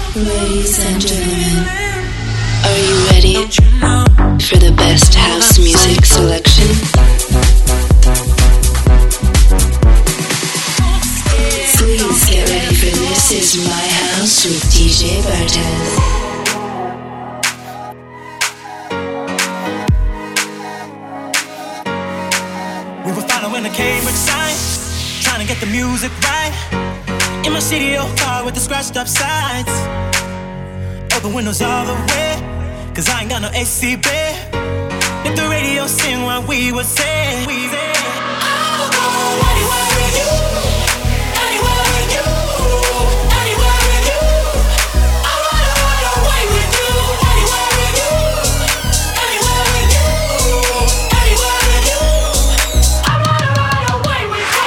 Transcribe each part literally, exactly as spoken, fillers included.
Ladies and gentlemen, are you ready for the best house music selection? Please get ready for This Is My House with D J Bartez. We were following the Cambridge sign, trying to get the music right. In my C D O car with the scratched up sides. Open windows all the way, cause I ain't got no A C, babe. Let the radio sing while we were saying, we say, I'll go anywhere with you, anywhere with you, anywhere with you. I wanna run away with you, anywhere with you, anywhere with you, anywhere with you. I wanna run away with you.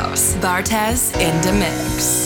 house. Bartez in the mix.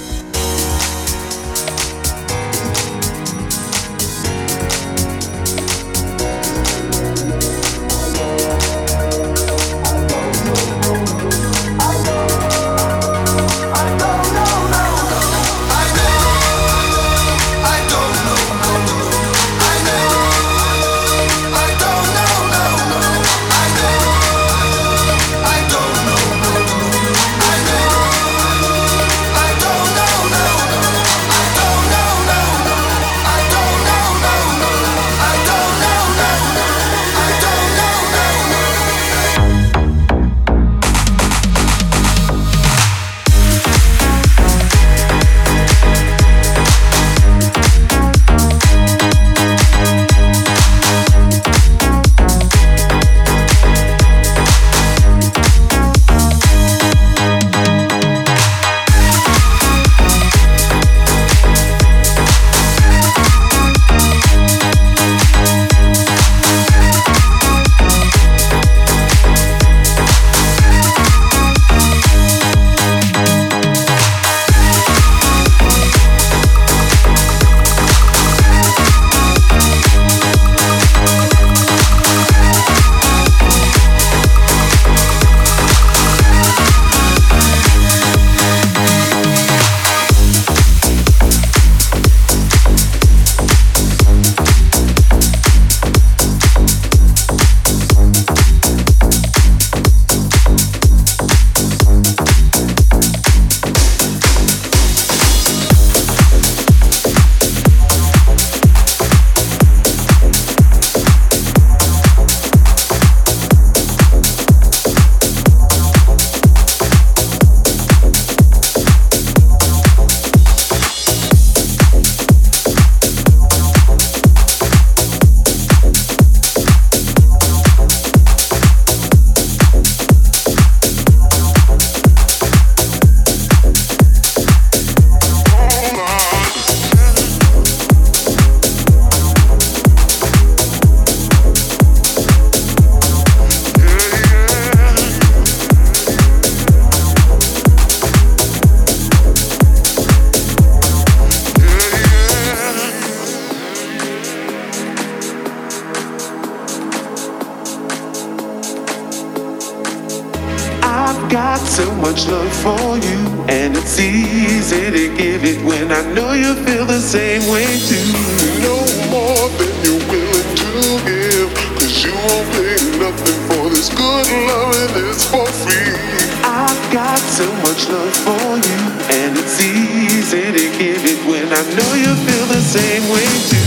got so much love for you, and it's easy to give it when I know you feel the same way too. No more than you're willing to give, 'cause you won't pay nothing for this good love, and it's for free. I've got so much love for you, and it's easy to give it when I know you feel the same way too.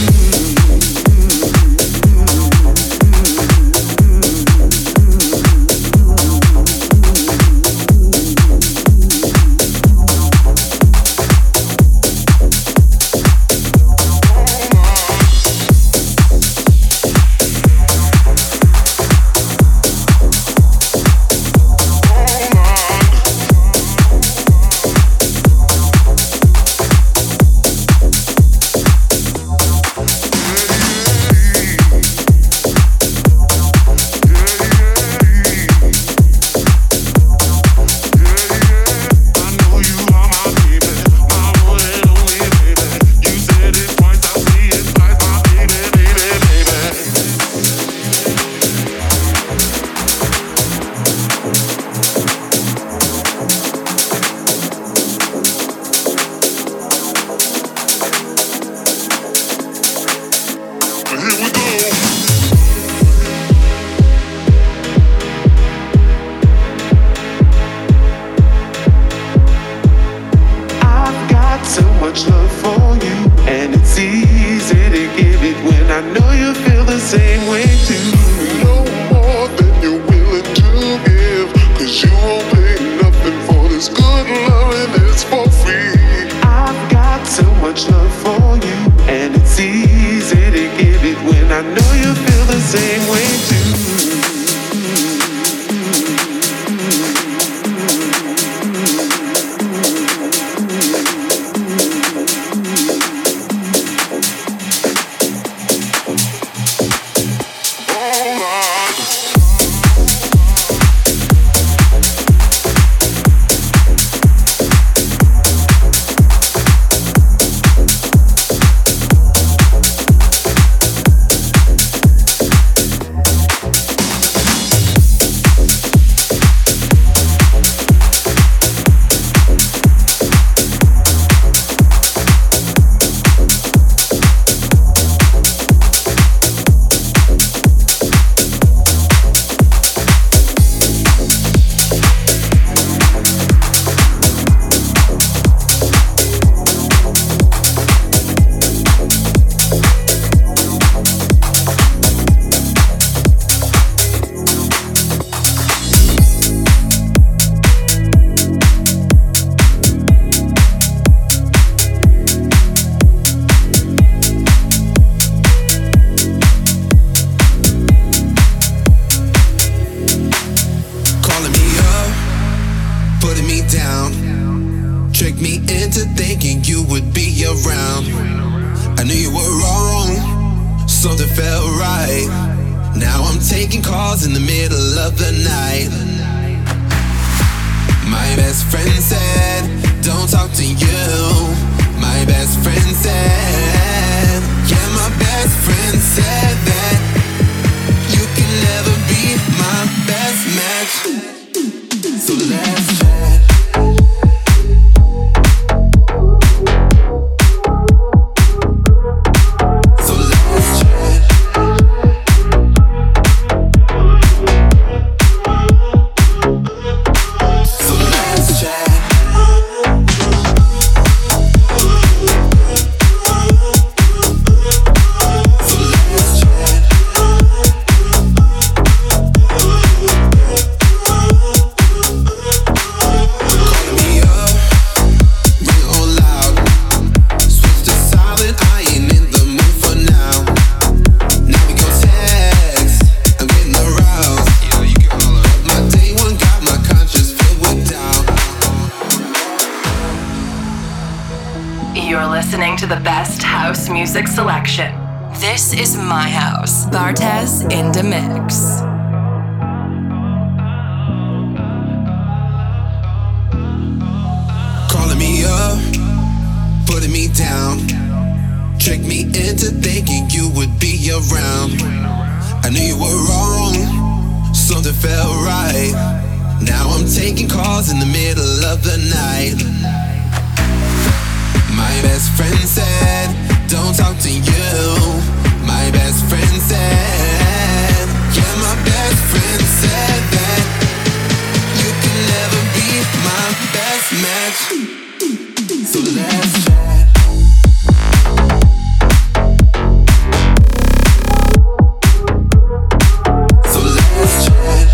me down, tricked me into thinking you would be around. I knew you were wrong, something felt right. Now I'm taking calls in the middle of the night. My best friend said, don't talk to you. My best friend said, yeah, my best friend said that you can never be my best match. So let's chat. The best house music selection. This is my house. Bartez in the mix. Calling me up, putting me down, tricked me into thinking you would be around. I knew you were wrong, something felt right. Now I'm taking calls in the middle of the night. My best friend said, don't talk to you. My best friend said, yeah, my best friend said that you can never be my best match. So let's chat. So let's chat.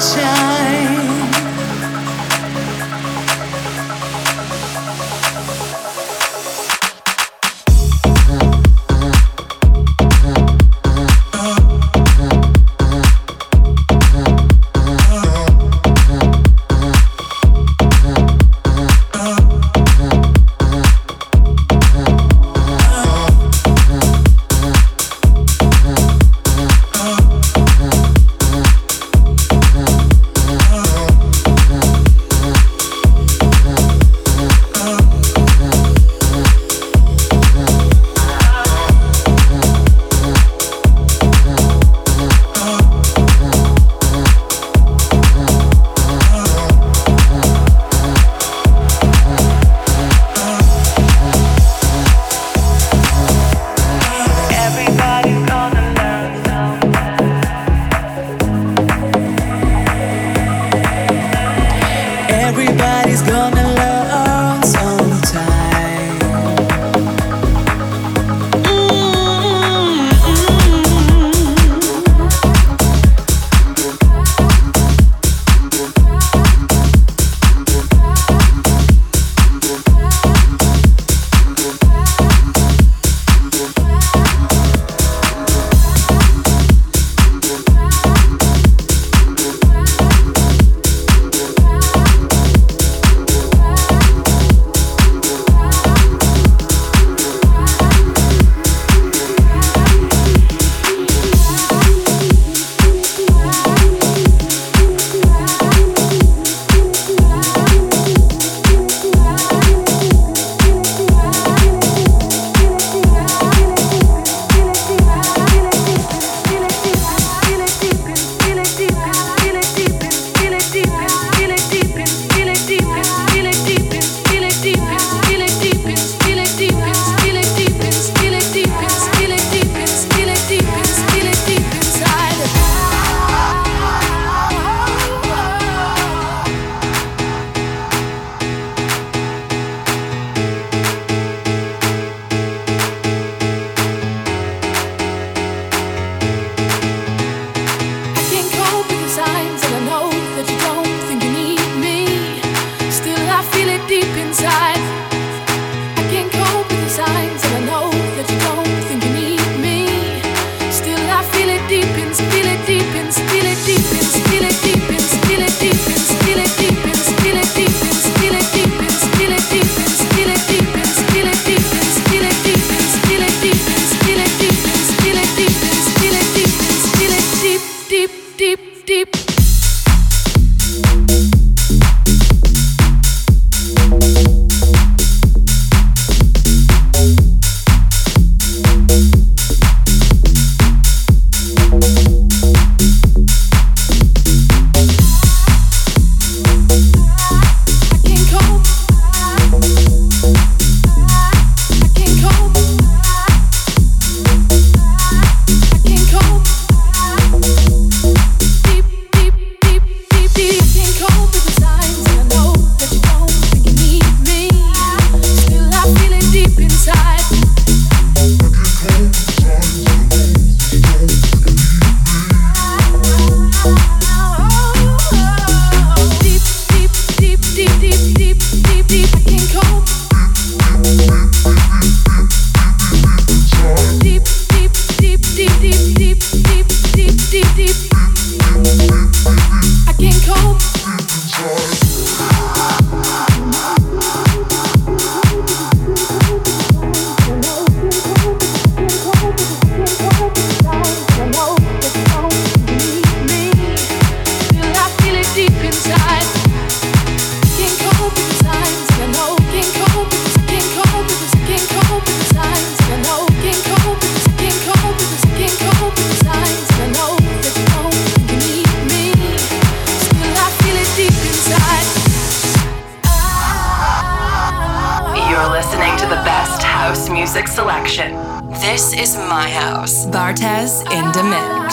music selection. This is my house. Bartez in the mix.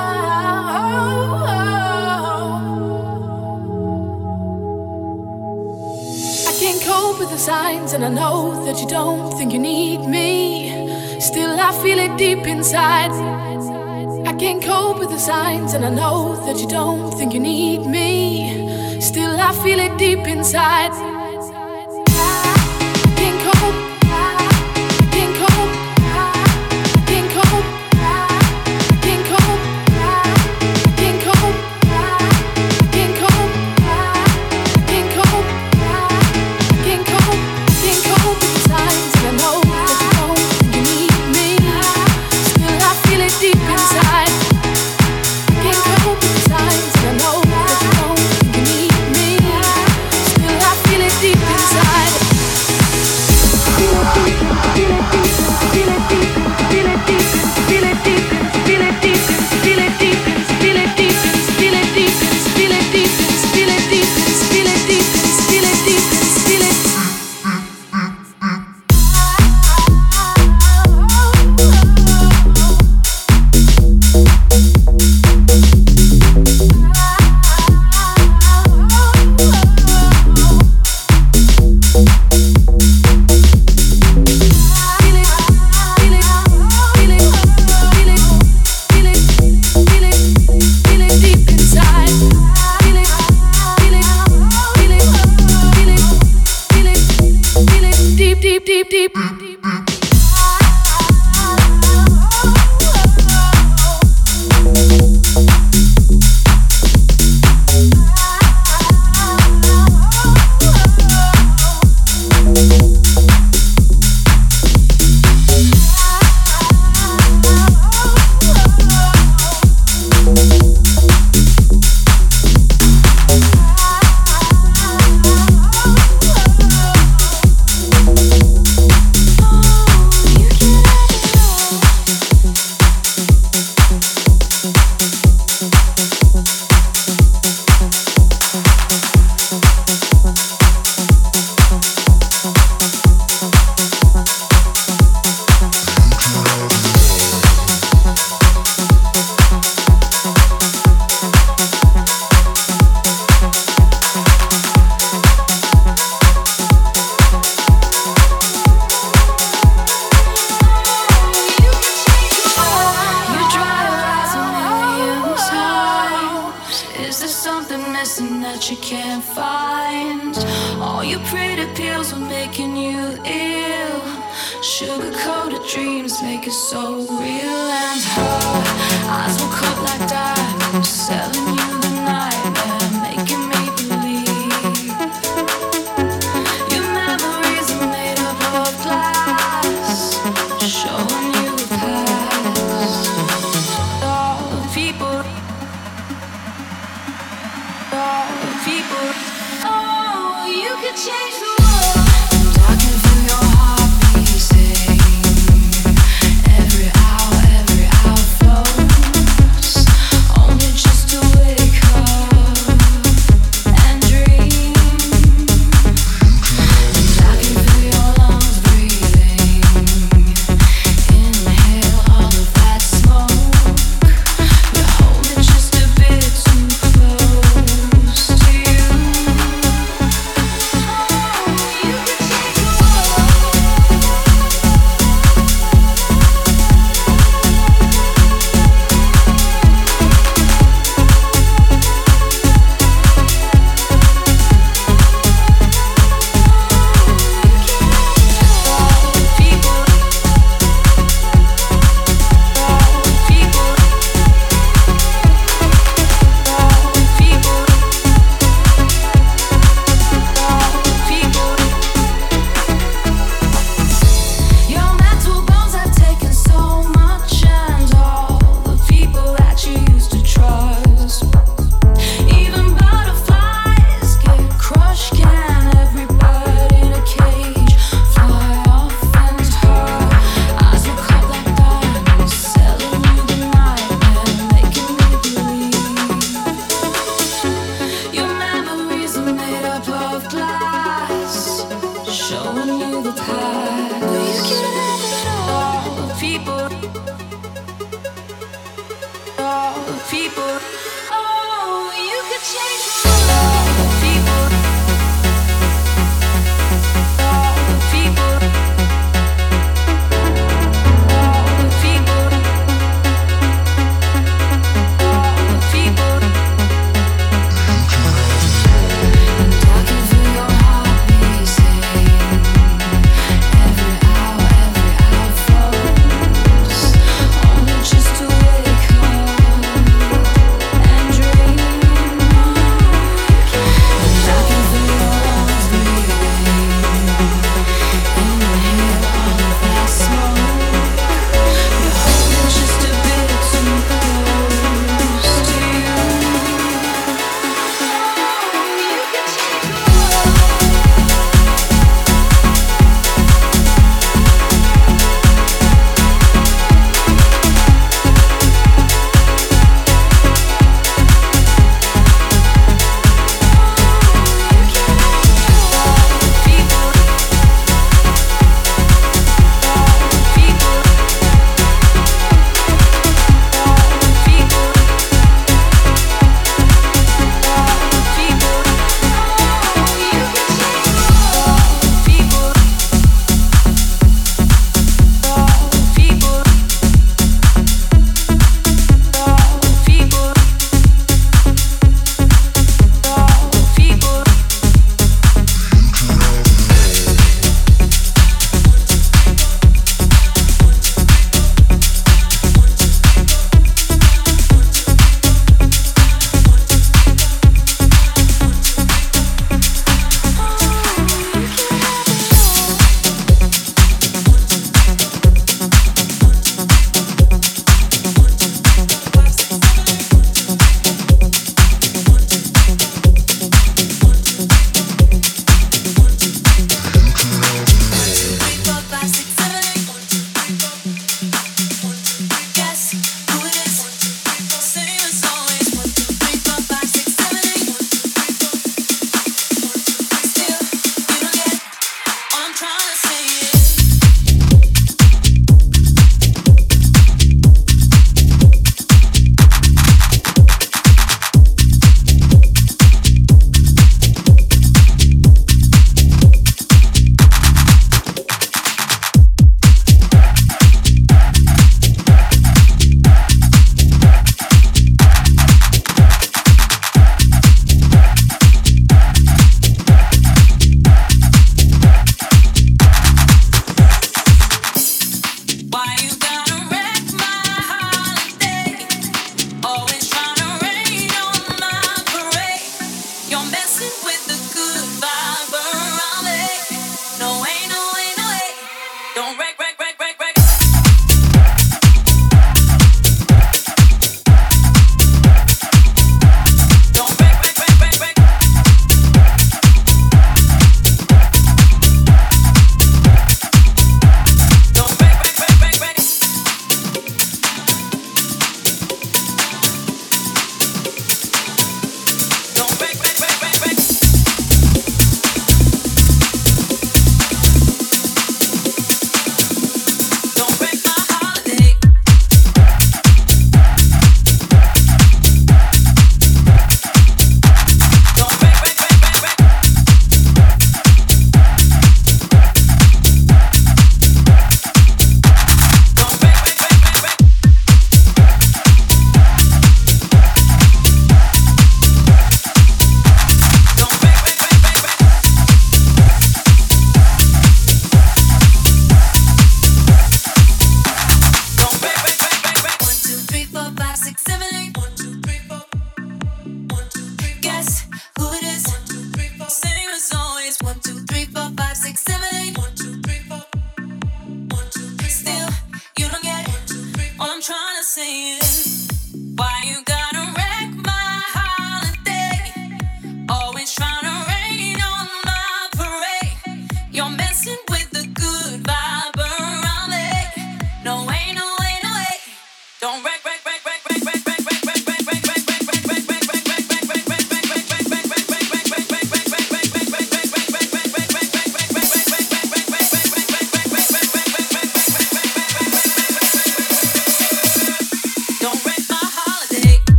I can't cope with the signs, and I know that you don't think you need me. Still, I feel it deep inside. I can't cope with the signs, and I know that you don't think you need me. Still, I feel it deep inside. I can't cope. I can't cope. I can't cope. I can't cope. I can't cope. I can't cope. I can't cope. I can't cope. Can't cope with the signs, and I know that you don't think you need me. Still, I feel it deep inside. Can't cope with the signs, and I know that you don't think you need me. Still, I feel it deep inside. Feel it deep, feel it deep, feel it deep, feel it deep, feel it deep, feel it deep, feel it deep, feel it deep, feel it deep, feel it deep, feel it deep, feel it deep, feel it deep, feel it. Deep, deep, deep, deep.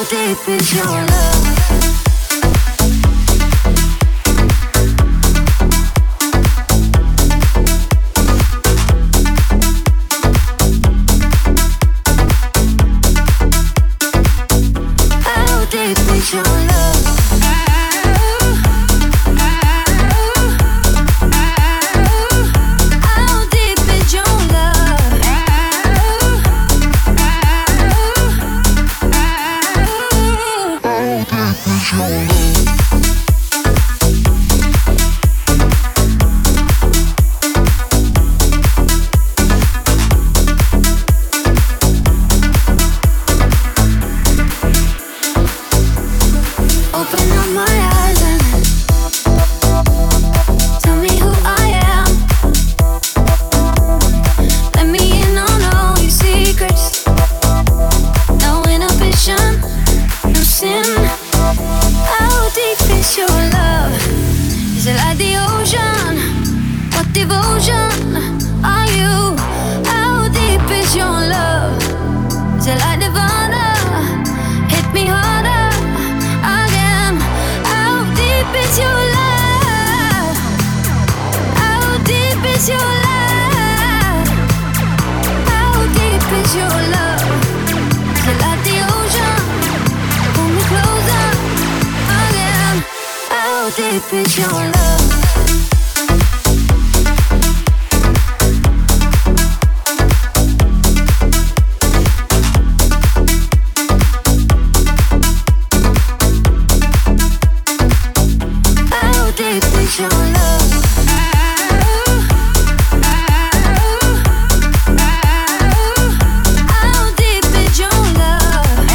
deep is your love? How deep is your love? Deep is your love? How deep is your love? How deep is your love?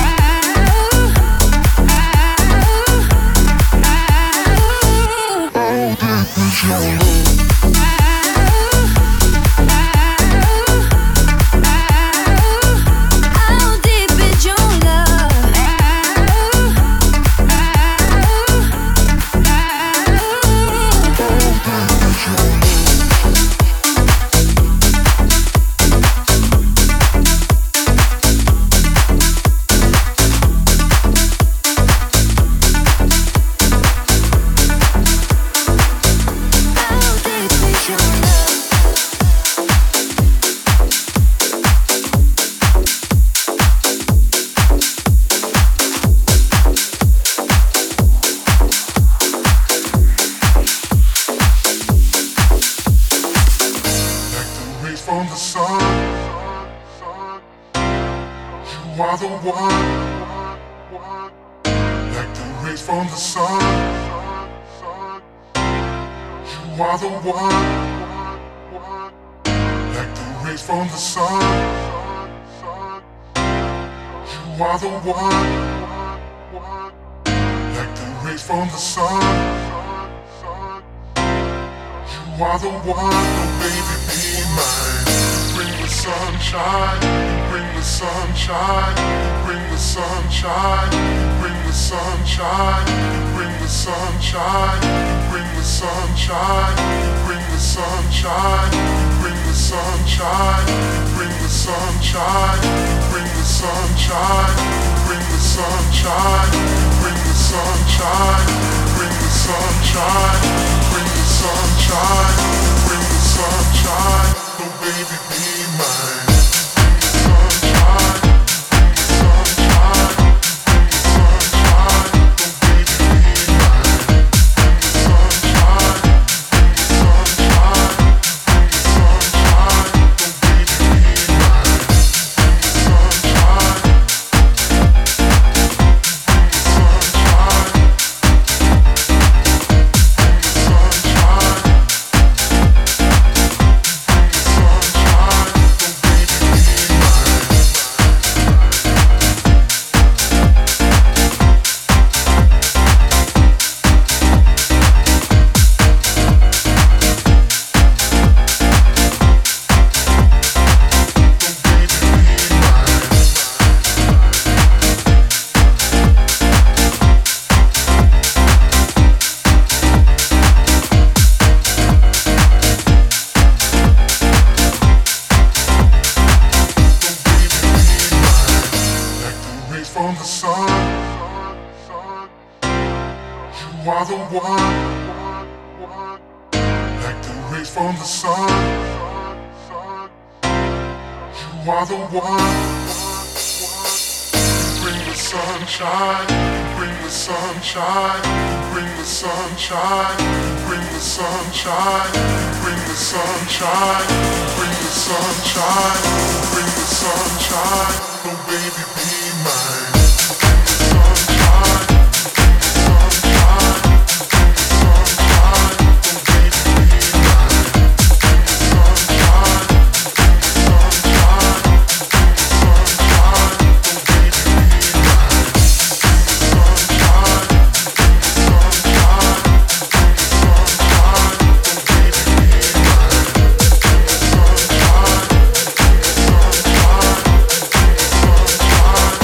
From the sun, you are the one. Like the rays from the sun, you are the one. Like the rays from the sun, you are the one. Like the rays from the sun, you are the one. Oh baby, be mine. Bring the sunshine, bring the sunshine, bring the sunshine, bring the sunshine, bring the sunshine, bring the sunshine, bring the sunshine, bring the sunshine, bring the sunshine, bring the sunshine, bring the sunshine, bring the sunshine, bring the sunshine, bring the sunshine, bring the sunshine. Oh baby, be mine. Baby, the sun. You are the one, like the rays from the sun. You are the one. You bring the sunshine. You bring the sunshine. You bring the sunshine. You bring the sunshine. You bring the sunshine. You bring the sunshine. You bring the sunshine. Oh baby, be mine. Sunshine.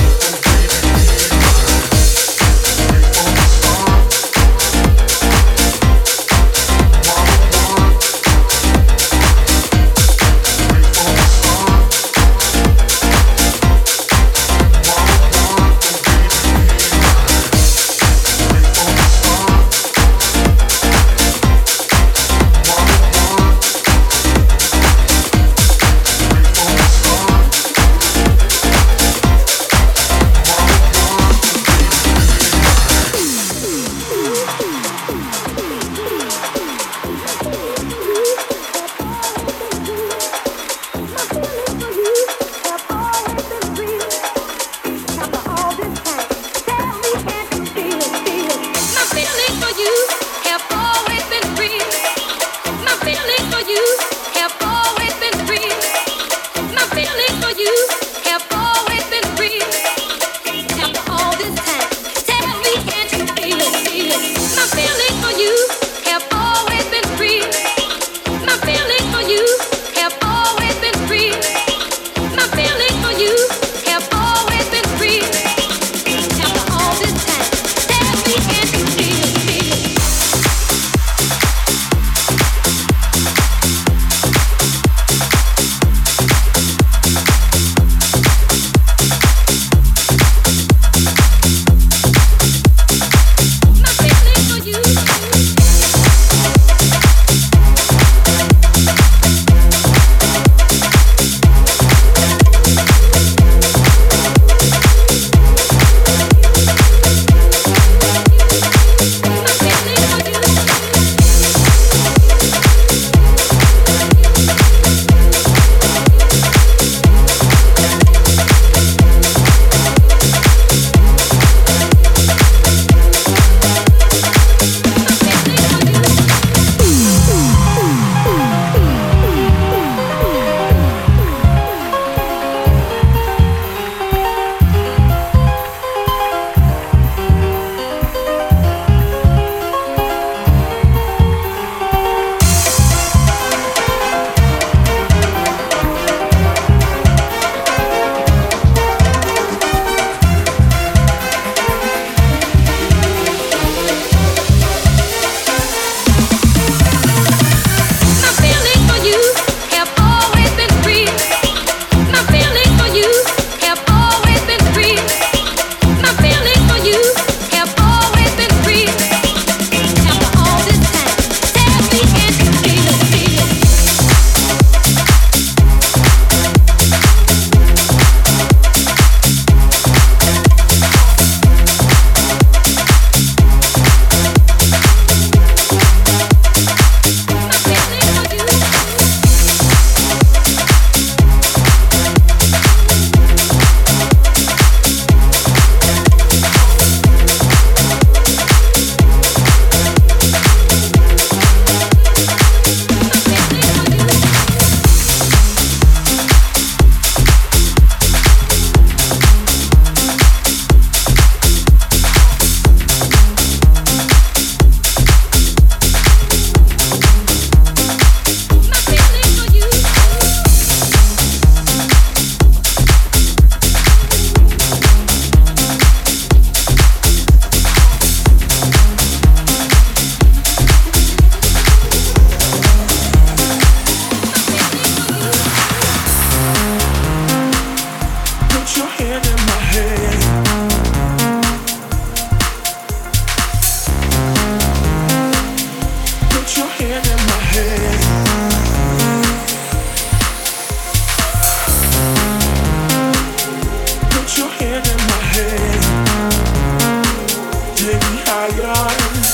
higher.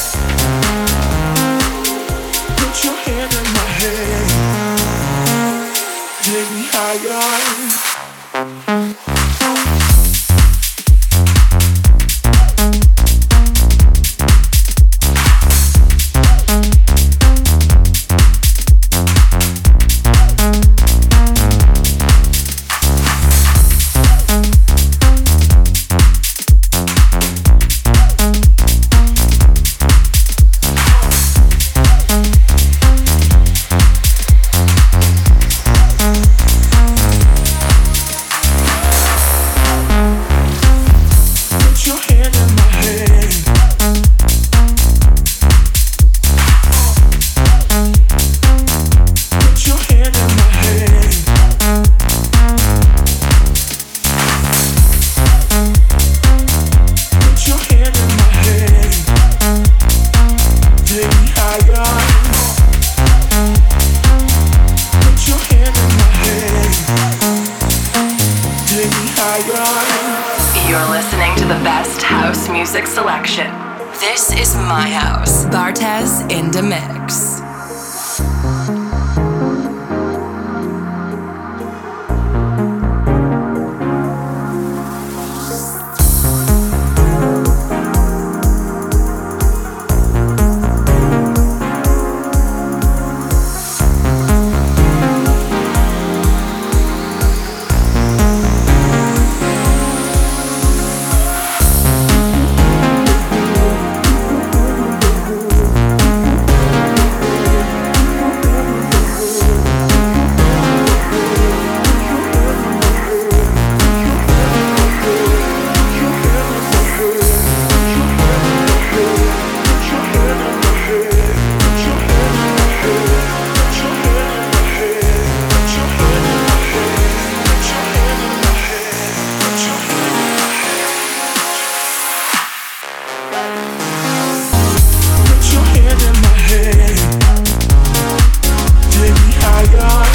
Put your hand in my hand. Take me higher. You're listening to the best house music selection. This is my house. Bartez in the mix. Take me higher.